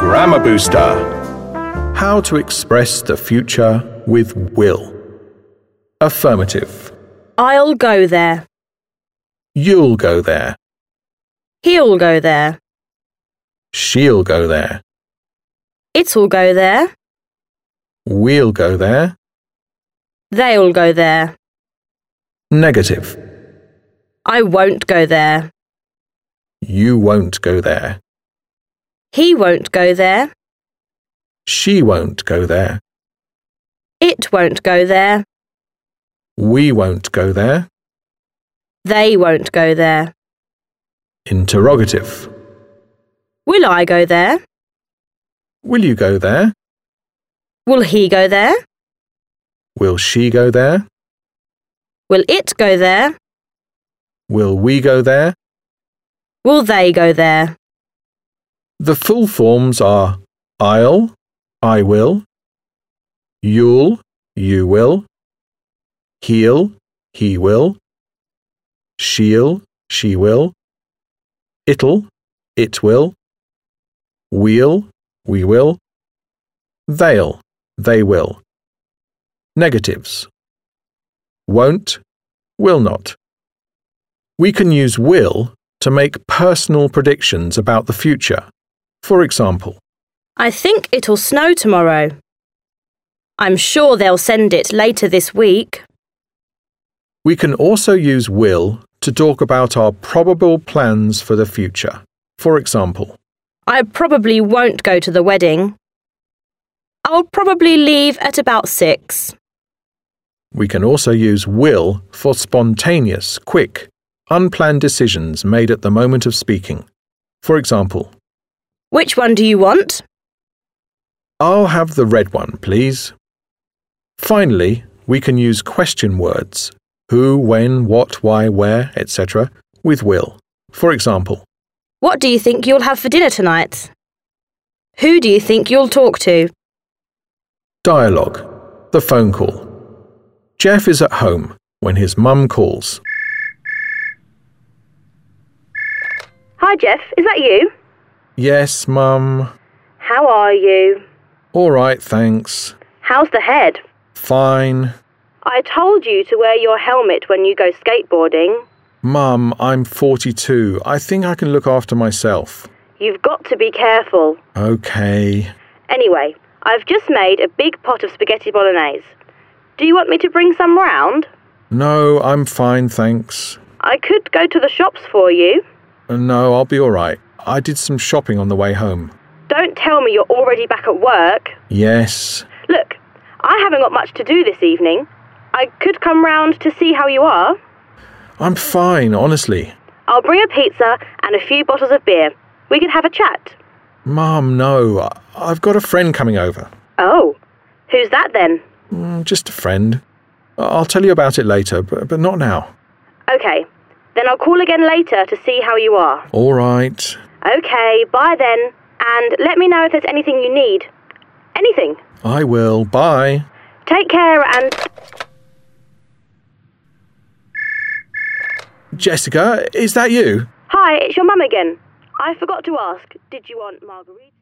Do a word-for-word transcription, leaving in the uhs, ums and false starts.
Grammar Booster. How to express the future with will. Affirmative. I'll go there. You'll go there. He'll go there. She'll go there. It'll go there. We'll go there. They'll go there. Negative. I won't go there. You won't go there. He won't go there. She won't go there. It won't go there. We won't go there. They won't go there. Interrogative. Will I go there? Will you go there? Will he go there? Will she go there? Will it go there? Will we go there? Will they go there? The full forms are I'll, I will, you'll, you will, he'll, he will, she'll, she will, it'll, it will, we'll, we will, they'll, they will. Negatives. Won't, will not. We can use will to make personal predictions about the future. For example, I think it'll snow tomorrow. I'm sure they'll send it later this week. we can also use will to talk about our probable plans for the future. For example, I probably won't go to the wedding. I'll probably leave at about six. we can also use will for spontaneous, quick, unplanned decisions made at the moment of speaking. For example, Which one do you want? I'll have the red one, please. Finally, we can use question words, who, when, what, why, where, et cetera, with will. For example, What do you think you'll have for dinner tonight? Who do you think you'll talk to? dialogue, the phone call. Jeff is at home when his mum calls. Hi, Jeff. Is that you? Yes, Mum. How are you? All right, thanks. How's the head? Fine. I told you to wear your helmet when you go skateboarding. Mum, I'm forty-two. I think I can look after myself. You've got to be careful. Okay. Anyway, I've just made a big pot of spaghetti bolognese. Do you want me to bring some round? No, I'm fine, thanks. I could go to the shops for you. No, I'll be all right. I did some shopping on the way home. Don't tell me you're already back at work. Yes. Look, I haven't got much to do this evening. I could come round to see how you are. I'm fine, honestly. I'll bring a pizza and a few bottles of beer. We can have a chat. Mum, no. I- I've got a friend coming over. Oh, who's that then? Mm, just a friend. I- I'll tell you about it later, but, but not now. Okay, then I'll call again later to see how you are. All right. Okay, bye then. And let me know if there's anything you need. Anything. I will. Bye. Take care and... Jessica, is that you? Hi, it's your mum again. I forgot to ask, did you want margarita?